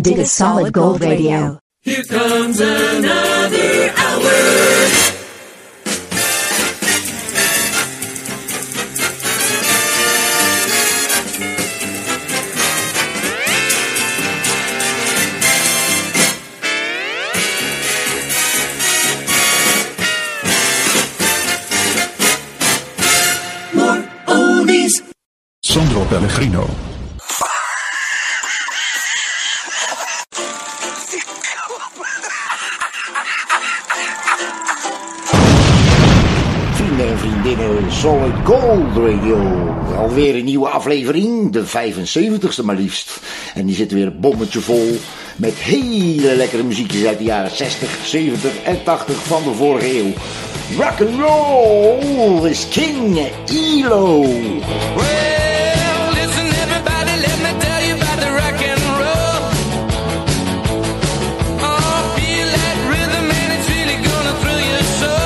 Dit is Solid Gold Radio. Here comes another hour. More oldies. Sandro Pellegrino. En vriendinnen, Solid Gold Radio. Alweer een nieuwe aflevering, de 75ste maar liefst. En die zit weer een bommetje vol met hele lekkere muziekjes uit de jaren 60, 70 en 80 van de vorige eeuw. Rock and roll is king, ELO. Well, listen everybody, let me tell you about the rock and roll. Oh, feel that rhythm and it's really gonna thrill your soul.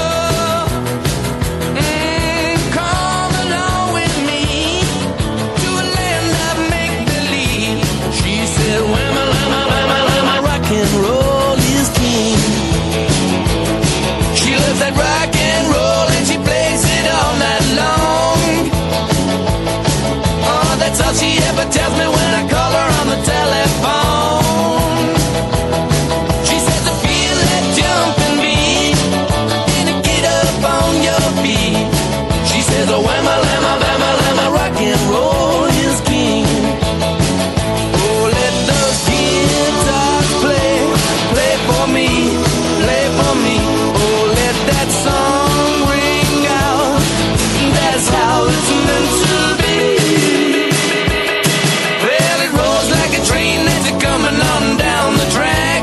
She ever tells me when I call her on the telephone. She says I feel that jumping beat and get up on your feet. She says oh whamma lamma bamma lamma rock and roll is king. Oh let those guitars play, play for me, play for me. Oh let that song ring out. That's how it's meant to be. Coming on down the track,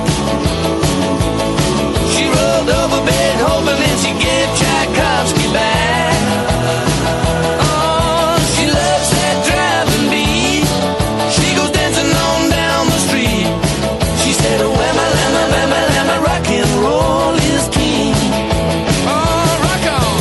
she rolled over bed hoping that she'd get Tchaikovsky back. Oh, she loves that driving beat. She goes dancing on down the street. She said, oh, whamma, lamma, bamma, lamma, rock and roll is king. Oh, rock on.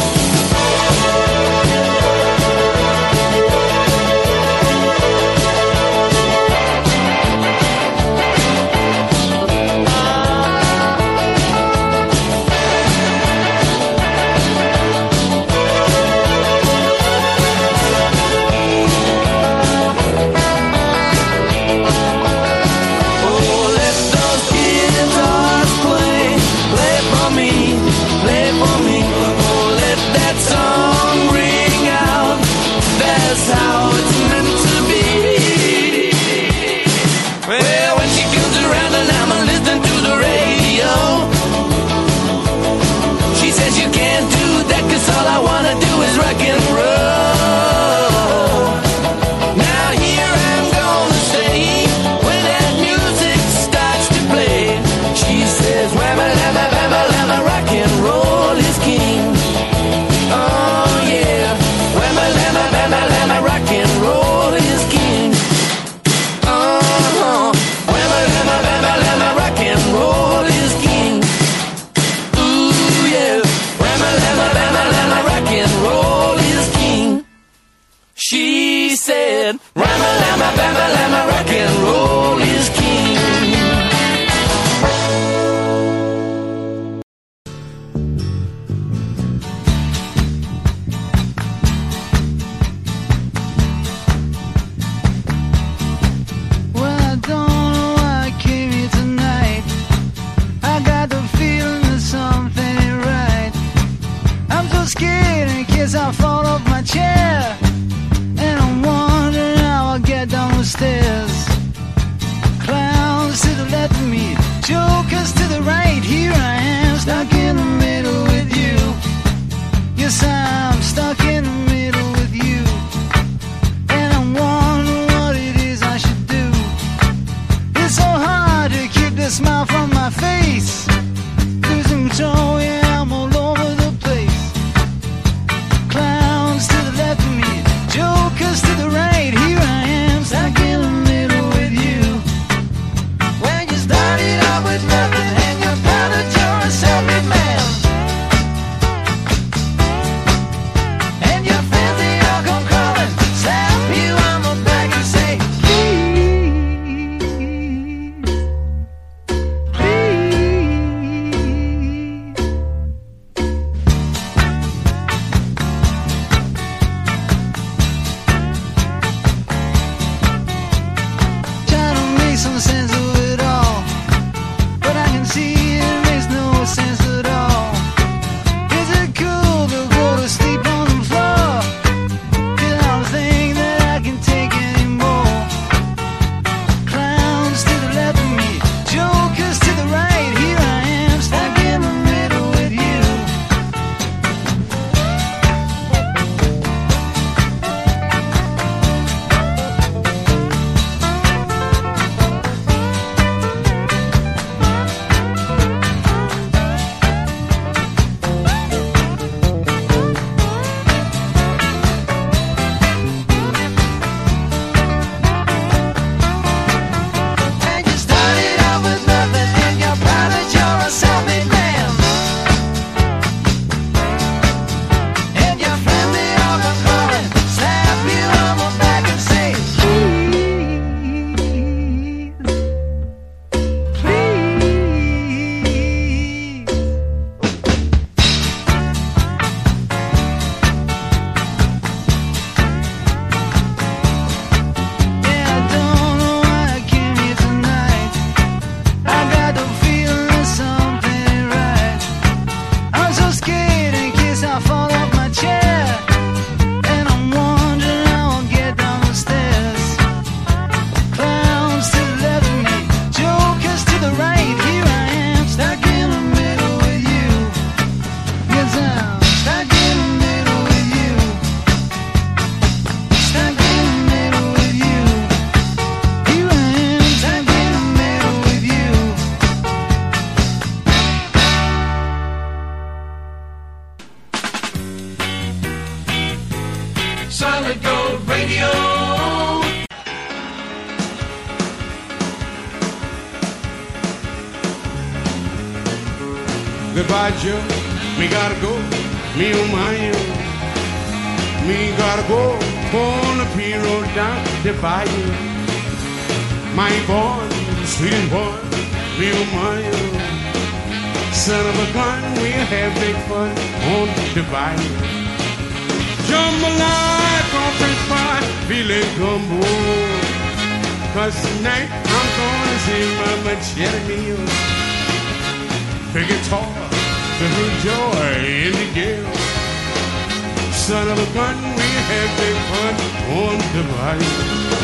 Goodbye, Joe. Me gotta go. Me oh my oh. Me gotta go on the P road down the bayou. My boy, sweet boy. Me oh my oh. Son of a gun, we'll have big fun on the bayou. Jambalaya, cornflakes pie, filet gumbo. 'Cause tonight I'm gonna see my machete meal. Big guitar, the joy in the gale. Son of a gun, we have big fun on the bayou.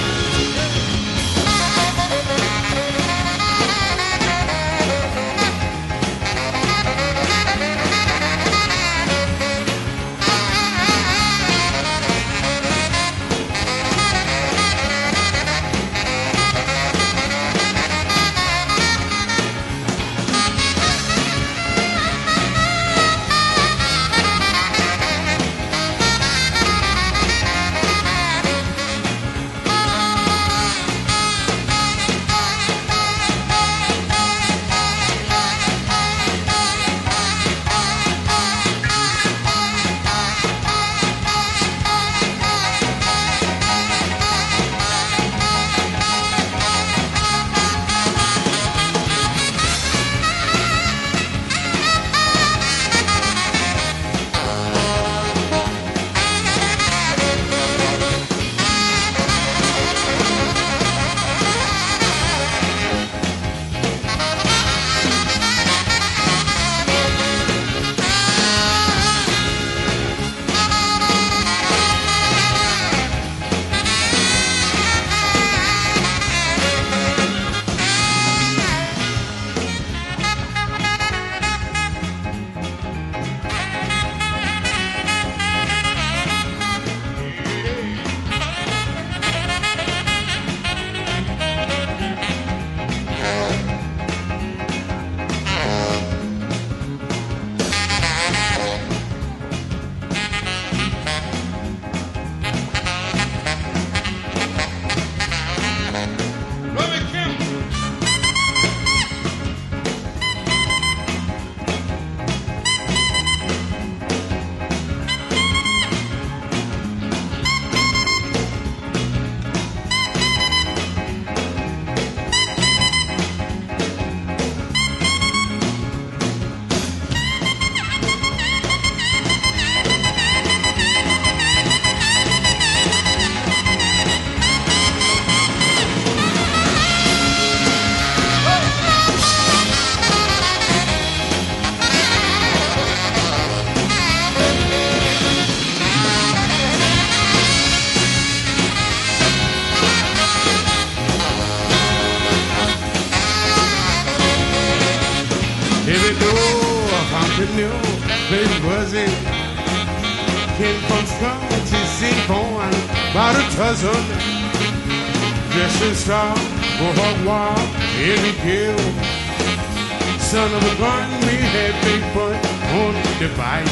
baby was it? Came from strong to see born about a dozen. Dressed in style, for hog wild, every kill. Son of a gun, we had big fun on the bike.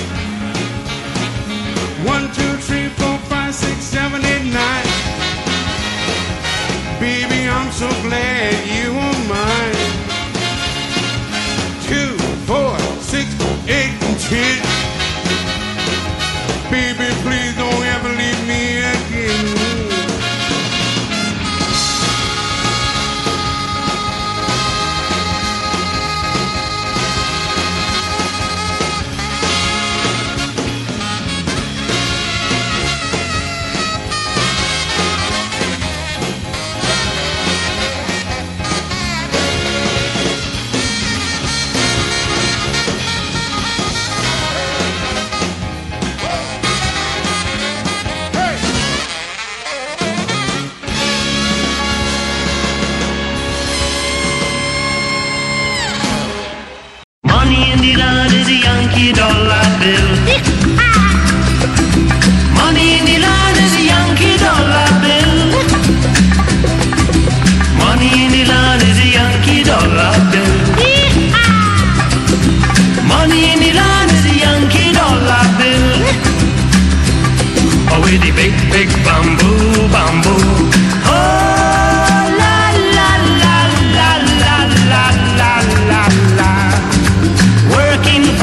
1, 2, 3, 4, 5, 6, 7, 8, 9. Baby, I'm so glad you were mine. 2, 4, 6, 8, and 10. Baby, please don't ever leave me again. Yankee dollar bill. Money in the land is a Yankee dollar bill. Money in the land is a Yankee dollar bill. Money in the land is a Yankee dollar bill. Oh, with the big, big bamboo, bamboo. Oh, la, la, la, la, la, la, la, la, la. Working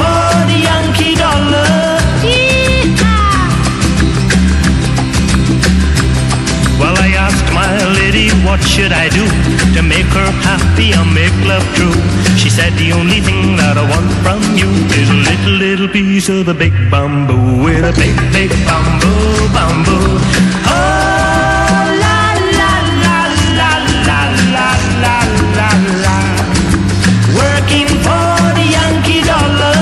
make love true. She said the only thing that I want from you is a little piece of the big bamboo, with a big bamboo, bamboo. Oh, la la la la la la la la la. Working for the Yankee dollar.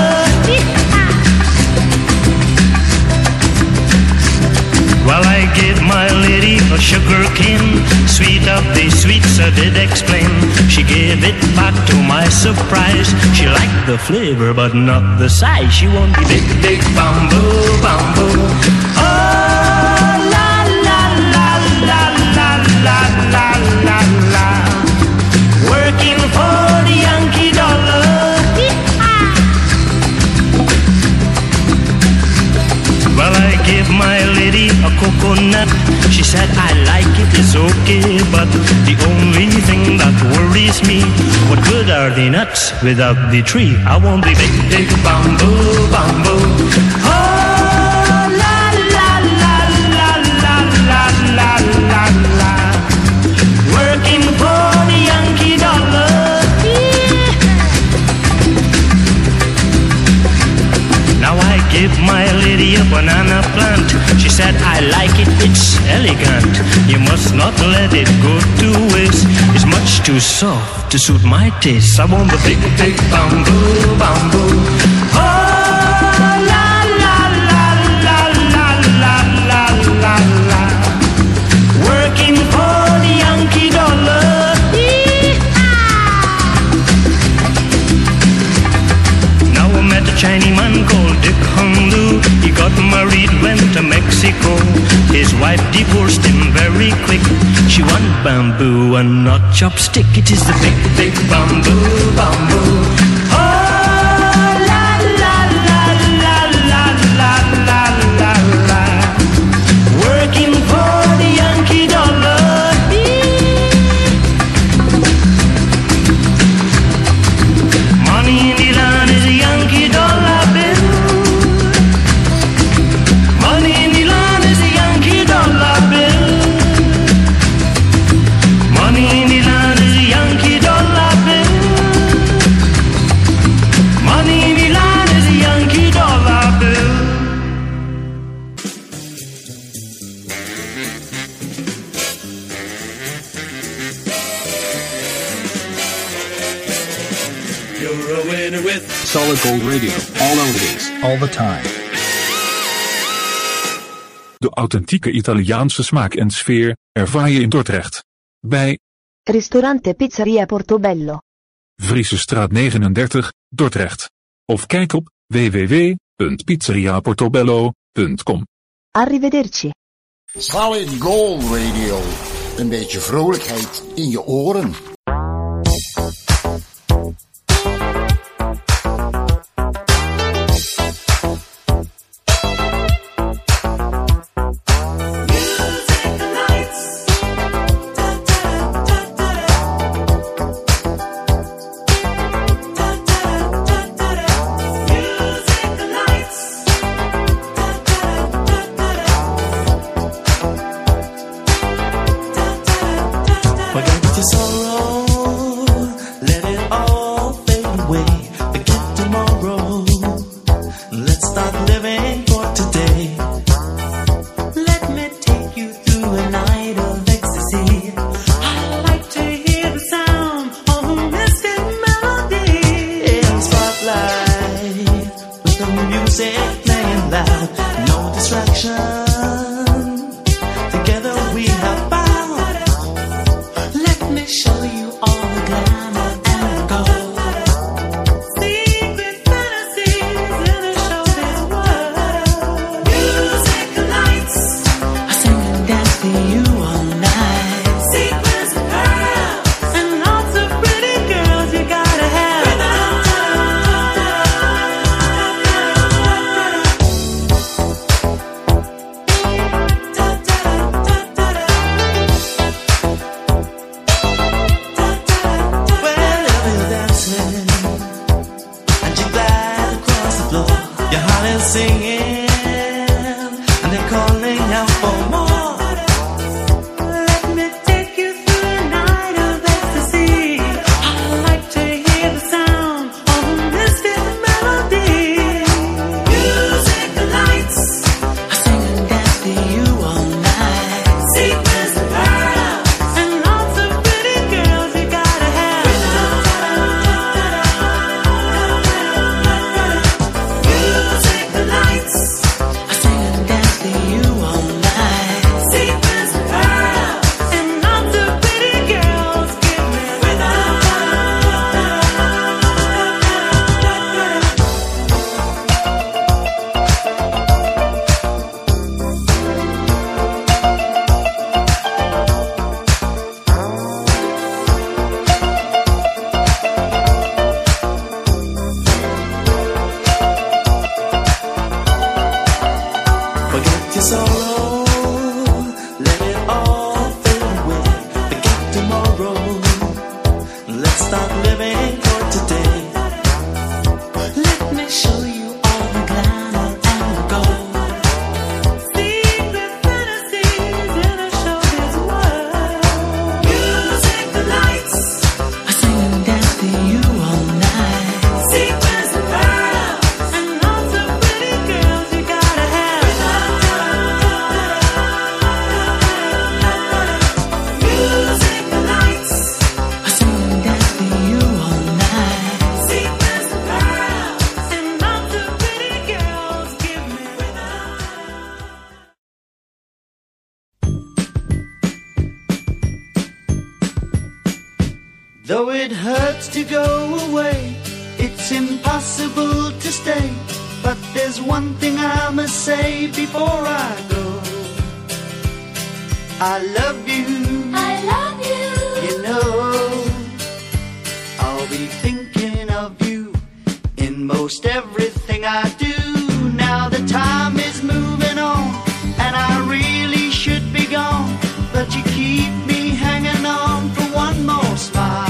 Well, I gave my lady a sugar cane, sweet of the sweets I did explain. She gave it back to my surprise. She liked the flavor but not the size. She wanted the big bamboo, bamboo. Oh, la la la la la la la la la. Working for the Yankee dollar. Well, I gave my lady a coconut. She said, I like it, it's okay, but the only thing that worries me, what good are the nuts without the tree? I want the big bamboo, bamboo. Oh, la la la la la la la la la. Working for the Yankee dollar. Now I give my lady a banana plant. She said, I like it, it's elegant. You must not let it go to waste. It's much too soft to suit my taste. I want the big bamboo, bamboo. Oh, la la la la la la la la la. Working for the Yankee dollar. Now I met a Chinese man called Dick Hung Lu. He got married, went to Mexico. His wife divorced him very quick. She want bamboo and not chopstick. It is the big bamboo, bamboo. Oh, la la la la la la la la la. Working for the Yankee dollar. Money in the land is a Yankee dollar bill. Money in the land is a Yankee dollar bill. Money in the land is a Yankee dollar bill. Money in the land is a Yankee dollar bill. You're a winner with Solid Gold Radio. All oldies, all the time. De authentieke Italiaanse smaak en sfeer ervaar je in Dordrecht. Bij Ristorante Pizzeria Portobello. Vriesestraat 39, Dordrecht. Of kijk op www.pizzeriaportobello.com. Arrivederci. Solid Gold Radio. Een beetje vrolijkheid in je oren. Forget your sorrow, let it all fade away. Forget tomorrow, let's start living for today. Let me take you through a night of ecstasy. I like to hear the sound of a mystic melody. In the spotlight, with the music playing loud, no distraction. Together we have found. Let me show you all the glamour and gold. Secret fantasies in a showbiz world. Music lights, I sing and dance for you all night. Sequins of pearls and lots of pretty girls you gotta have. living for today. Let me show you all the glamour and the gold. Secret fantasies in a showbiz world. Music, the lights, I sing and dance to you all night. Sequins and pearls and lots of pretty girls you gotta have. Music, the lights, I sing and dance to you all night. Sequins and pearls and lots of pretty girls give me rhythm. Though it hurts to go away, it's impossible to stay. But there's one thing I must say before I go. I love you. I love you. You know, I'll be thinking of you in most everything I do. Now the time is moving on, and I really should be gone. But you keep me hanging on for one more smile.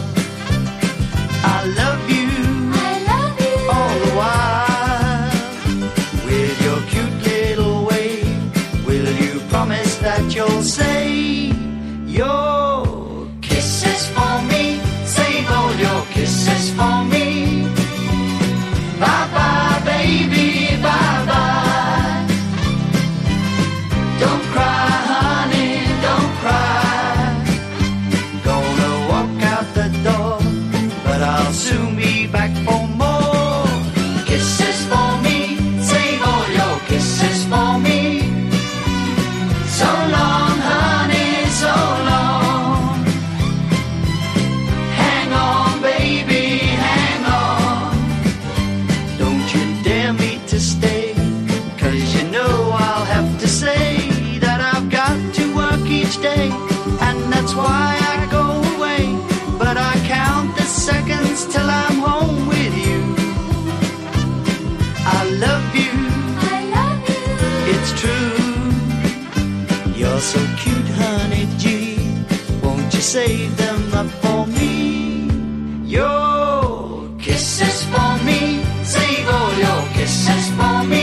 I love you. I love you. All the while. With your cute little way, will you promise that you'll say your kisses for me? Save all your kisses for me. Bye bye, baby, bye bye. Don't cry, honey, don't cry. Gonna walk out the door, but I'll soon be back for more. Kisses for me, save all your kisses for me. So long, honey, so long. Hang on, baby, hang on. Don't you dare me to stay, 'cause you know I'll have to say that I've got to work each day, and that's why I go away. But I count the seconds till I'm home with you. I love you. I love you. It's true. You're so cute, honey G. Won't you save them up for me? Your kisses for me. Save all your kisses for me.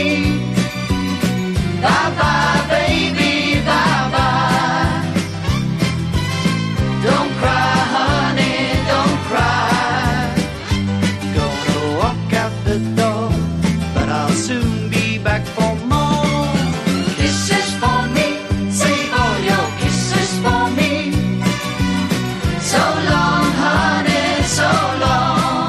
Bye bye, baby, bye bye. Don't cry, honey, don't cry. Gonna walk out the door, but I'll soon be back for more. Kisses for me, save all your kisses for me. So long, honey, so long.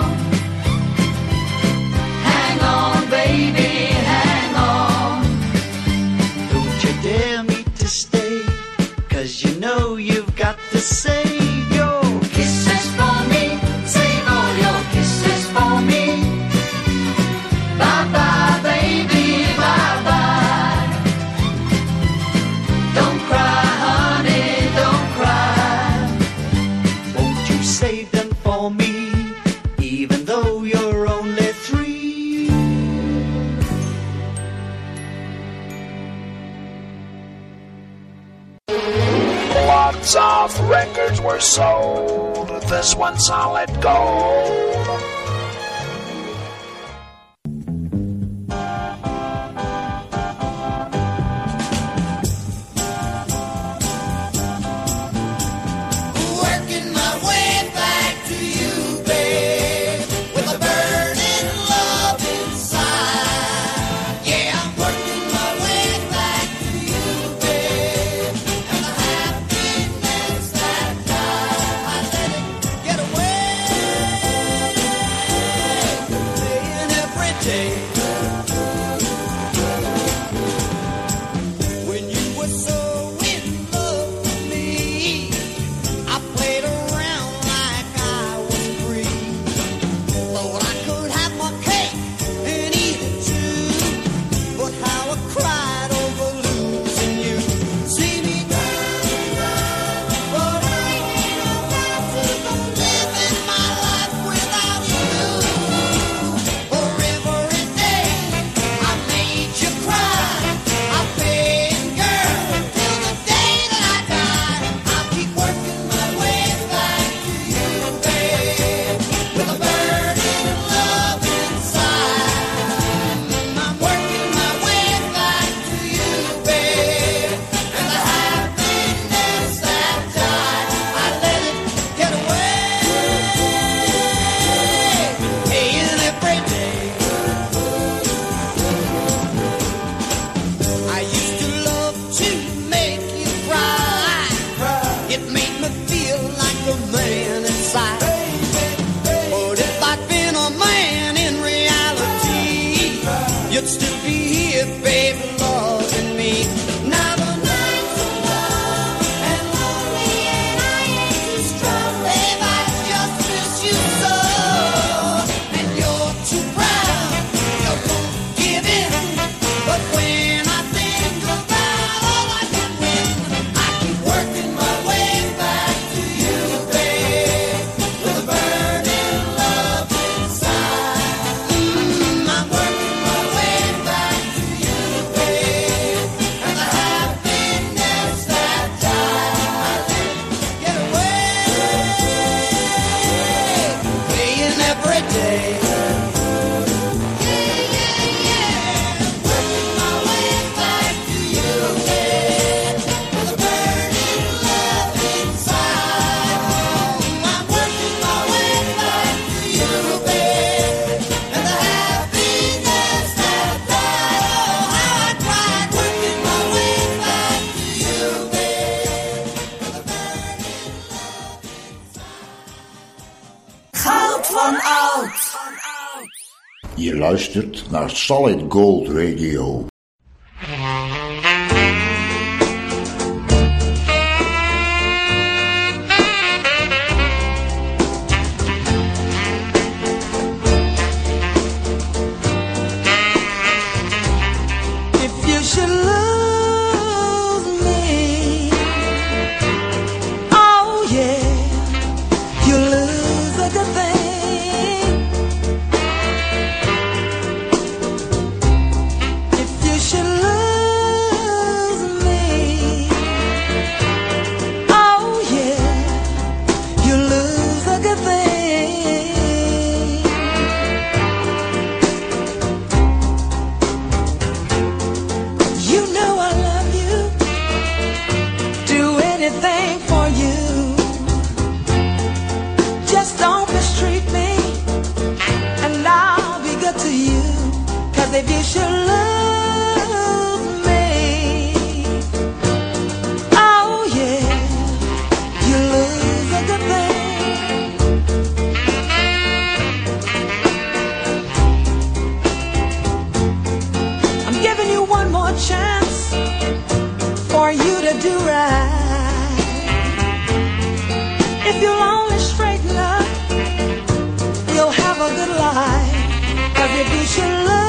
Hang on, baby, hang on. Don't you dare me to stay, 'cause you know you've got to save your kisses for me. Save all your kisses for me. Bye bye, baby, bye bye. Don't cry, honey, don't cry. Won't you save them for me, even though you're only 3? Lots of records were sold. This one solid gold. Working my way back to you, babe, with a burning love inside. Yeah, I'm working my way back to you, babe, and the happiness that I let it get away. van oud. Je luistert naar Solid Gold Radio. If you should love me, oh yeah, you lose a good thing. I'm giving you one more chance for you to do right. If you'll only straighten up, you'll have a good life. 'Cause if you should love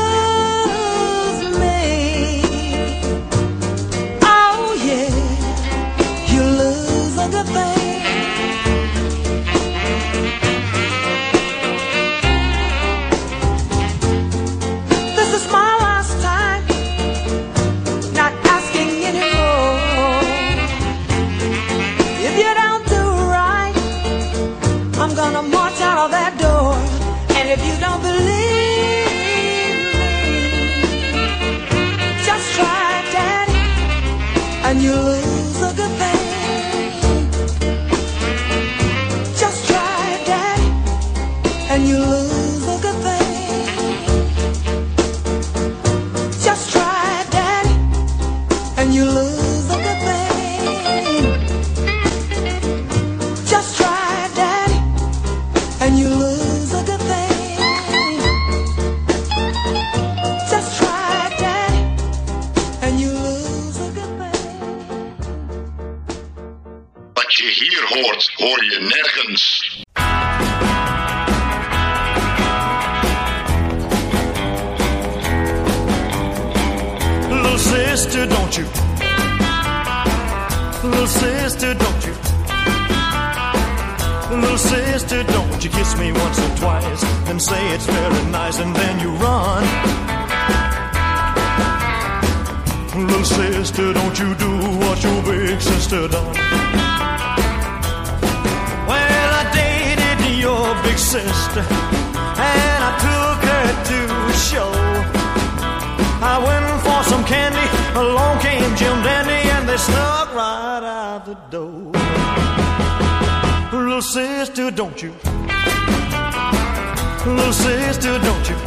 good thing. This is my last time, not asking anymore. If you don't do right, I'm gonna march out of that door. And if you don't believe me, just try, Daddy, and you lose a good thing. And you lose a good thing. Just try it, Daddy, and you lose a good thing. Just try it, Daddy, and you lose a good thing. Just try it, Daddy, and you lose a good thing. Wat je hier hoort, hoor je nergens. Sister, don't you? Little sister, don't you? Little sister, don't you kiss me once or twice and say it's very nice and then you run. Little sister, don't you do what your big sister done. Well, I dated your big sister and I took her to a show. I went for some candy, along came Jim Dandy, and they snuck right out the door. Little sister, don't you? Little sister, don't you?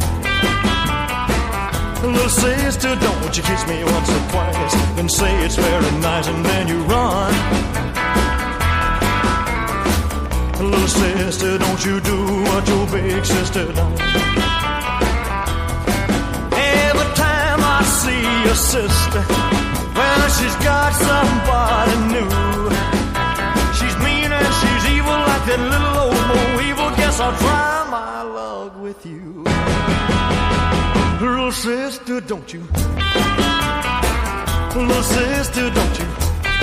Little sister, don't you kiss me once or twice and say it's very nice and then you run. Little sister, don't you do what your big sister done. I see your sister, well, she's got somebody new. She's mean and she's evil like that little old Mo Evil. Guess I'll try my luck with you. Little sister, don't you? Little sister, don't you?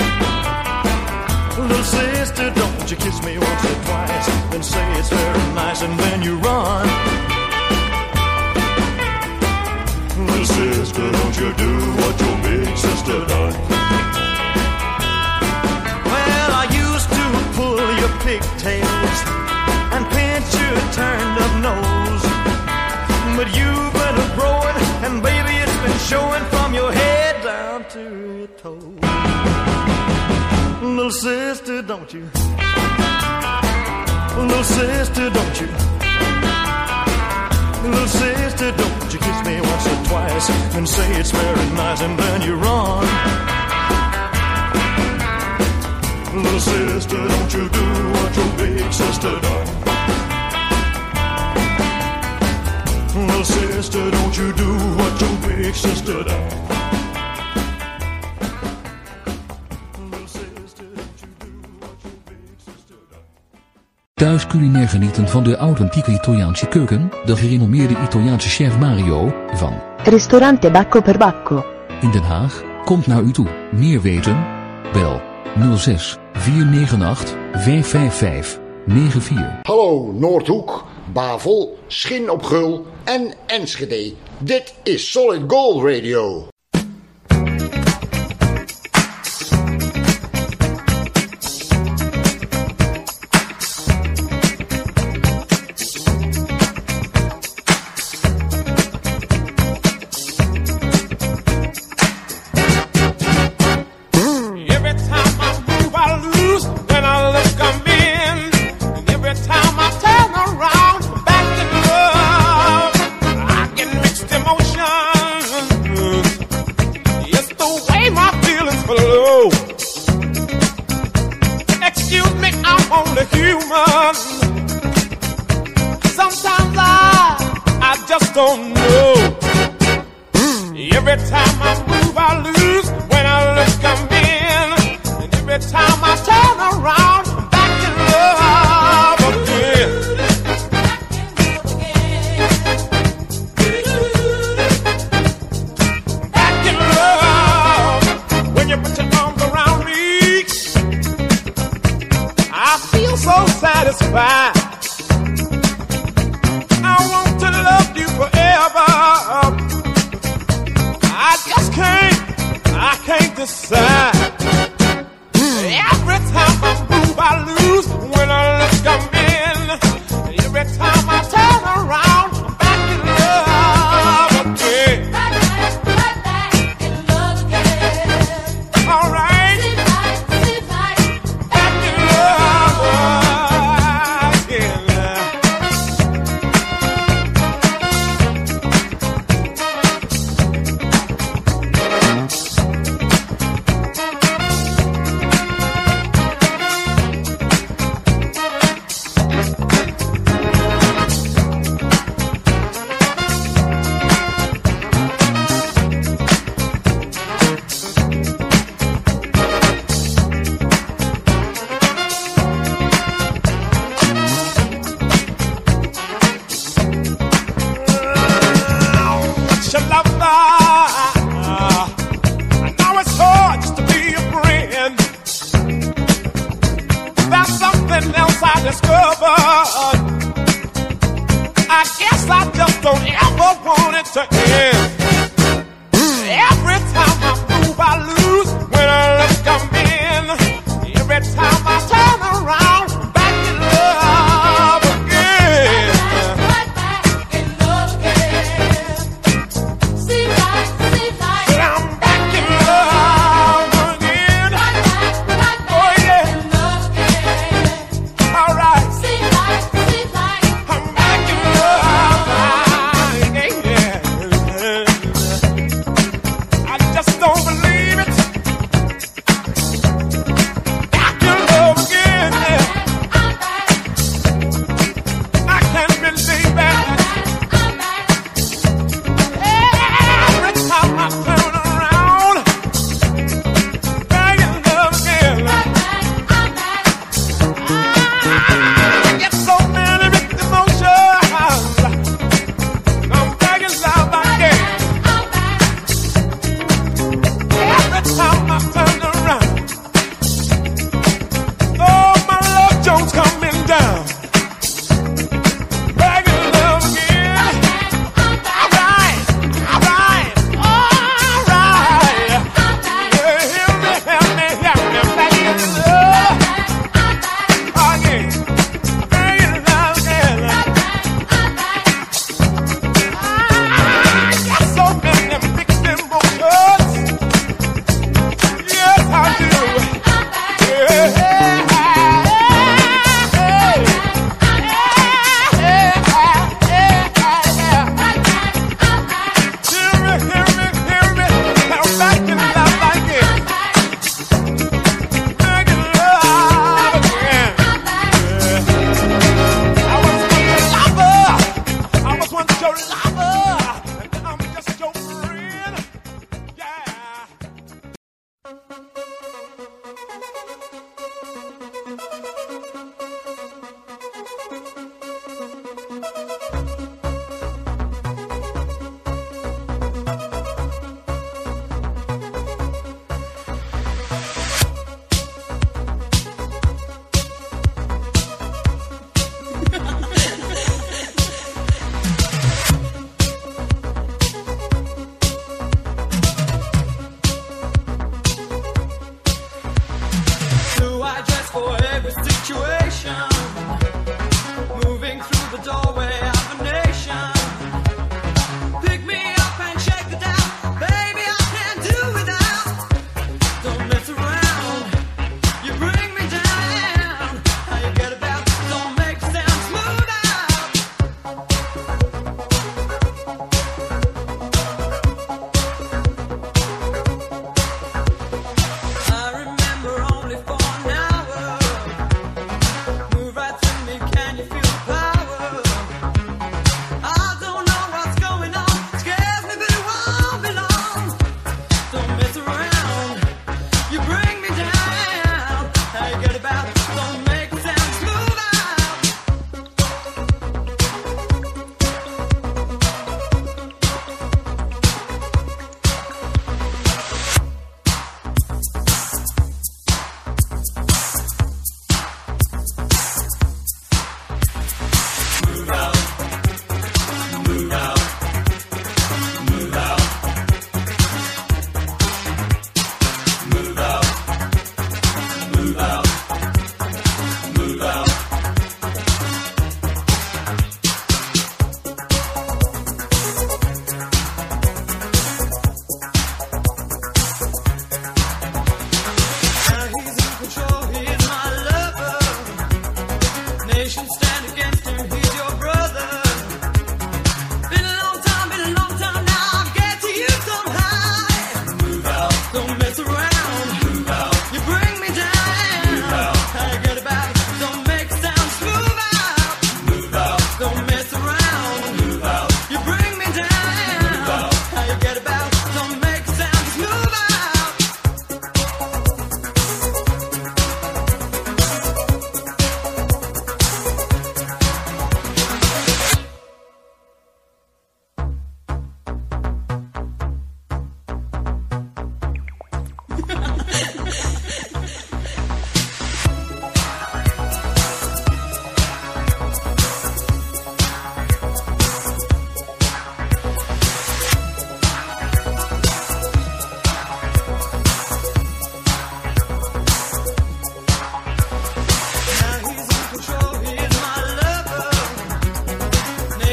Little sister, don't you kiss me once or twice and say it's very nice and then you run. Little sister, don't you do what your big sister done. Well, I used to pull your pigtails and pinch your turned up nose, but you've been a-growing and baby it's been showing from your head down to your toes. Little sister, don't you? Little sister, don't you? Little sister, don't you kiss me once or twice and say it's very nice and then you run. Little sister, don't you do what your big sister done. sister, don't you do what your big sister does. Thuis culinair genieten van de authentieke Italiaanse keuken, de gerenommeerde Italiaanse chef Mario van Ristorante Bacco per Bacco. in Den Haag komt naar u toe. Meer weten? Bel 06 498 555 94. Hallo Noordhoek, Bavel, Schin op Gul en Enschede. Dit is Solid Gold Radio.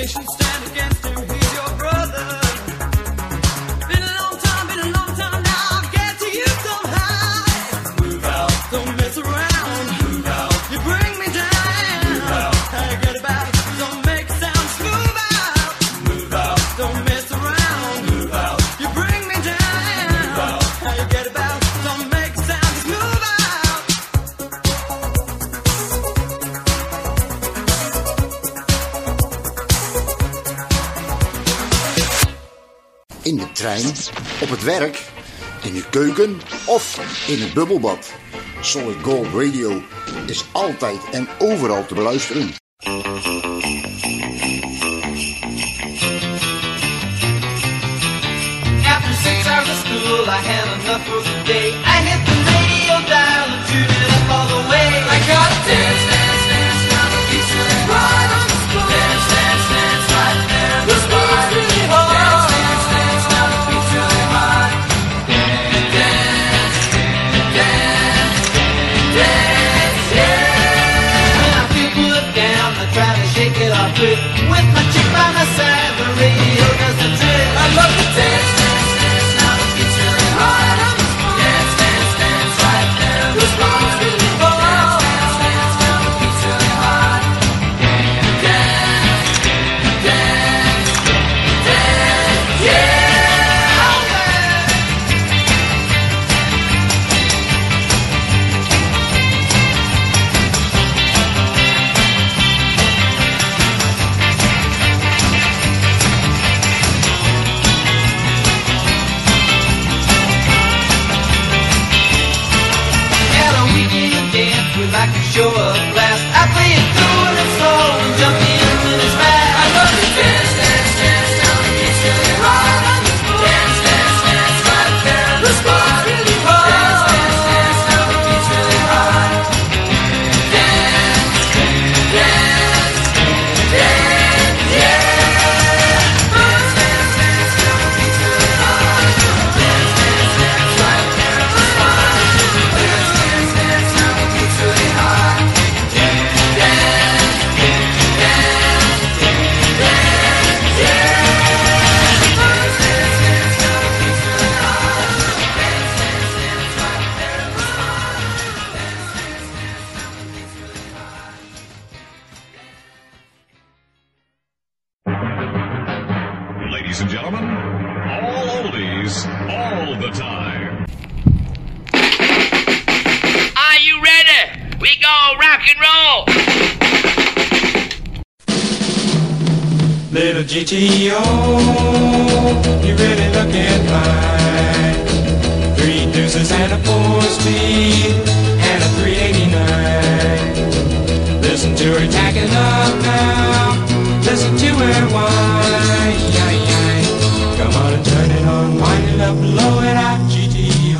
In de trein, op het werk, in de keuken of in het bubbelbad. Solid Gold Radio is altijd en overal te beluisteren. After 6 hours of school, I had enough for the day. I hit the radio dial and tuned it up all the way. I got a dance, dance, dance, down the beach right on the spot. Dance, dance, dance, right there. The speed's really hard. Dance, dance, dance, down the beach really hard. Dance, dance, dance, dance, yeah. When I feel put down, I try to shake it off quick. With my chick by my side, the radio does the trick. I love to dance. I can show up last. I play it cool and slow and jump in when it's fast. I love to dance, dance, dance down the beach really hard on the floor. Dance, dance, dance right there. The spot's really hard. Dance, dance, dance down the beach really hard. Dance, dance, dance, yeah. Dance, dance, dance down the beach really hard. Dance, dance, dance right there. The spot's really hard. Dance, dance, dance down the beach really hard. Ladies and gentlemen, all oldies, all the time. Are you ready? We go rock and roll. Little GTO, you really looking fine. 3 deuces and a 4-speed and a 389. Listen to her tacking up now. Listen to her whine. Come on and turn it on, wind it up, blow it out, GTO.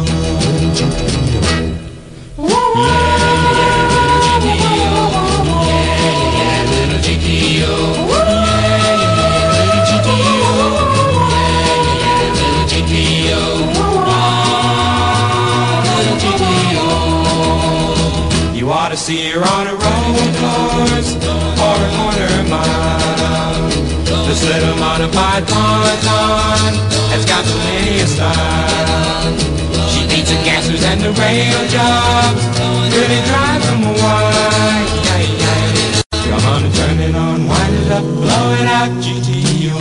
Little GTO. You ought to see her on a road course or a corner mile. This little modified ponton has got plenty of style. She beats the gassers and the rail jobs, really drives them wild. Come on and turn it on, wind it up, blow it out, GTO.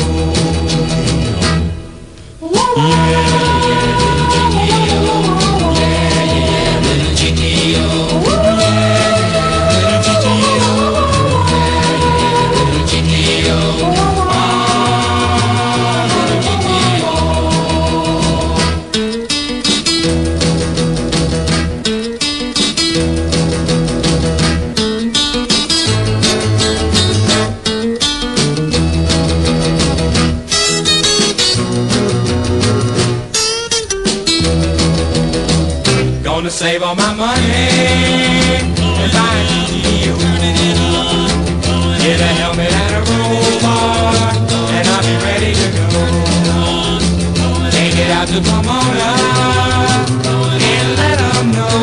Gonna save all my money and buy a GTO. Get a helmet and a roll bar, and I'll be ready to go. Take it out to Pomona and let them know,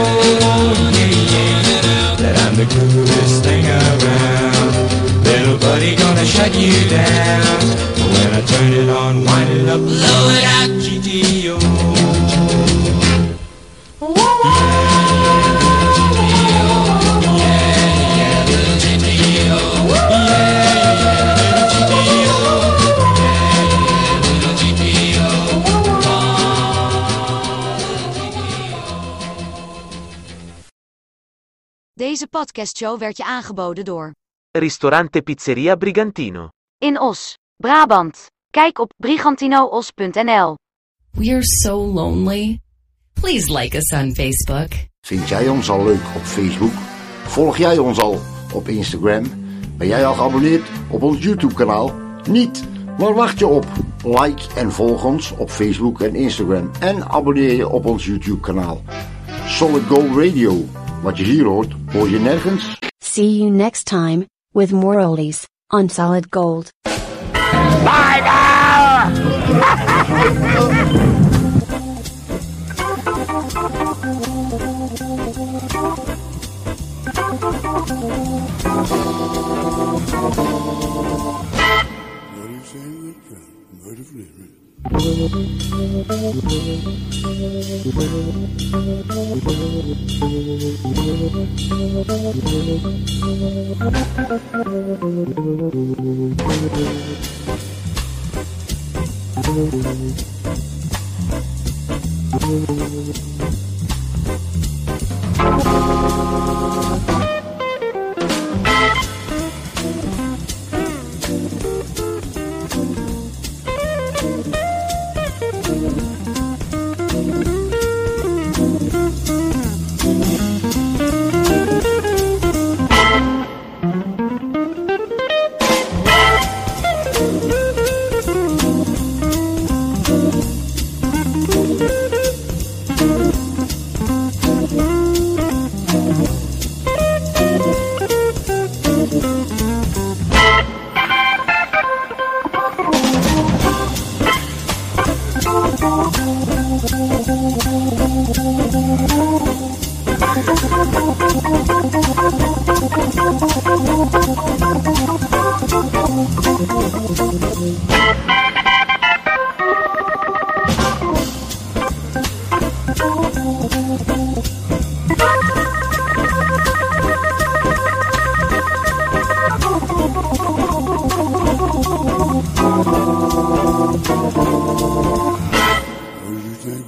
that I'm the coolest thing around. Little buddy gonna shut you down. But when I turn it on, wind it up, blow it out, GTO. Deze podcastshow werd je aangeboden door Ristorante Pizzeria Brigantino. in Os, Brabant. Kijk op brigantinoos.nl. We're so lonely. Please like us on Facebook. Vind jij ons al leuk op Facebook? Volg jij ons al op Instagram? Ben jij al geabonneerd op ons YouTube-kanaal? Niet? Waar wacht je op? Like en volg ons op Facebook en Instagram. En abonneer je op ons YouTube-kanaal. Solid Gold Radio. Wat je hier hoort, hoor je nergens. See you next time, with more oldies, on Solid Gold. Bye now! Thank you.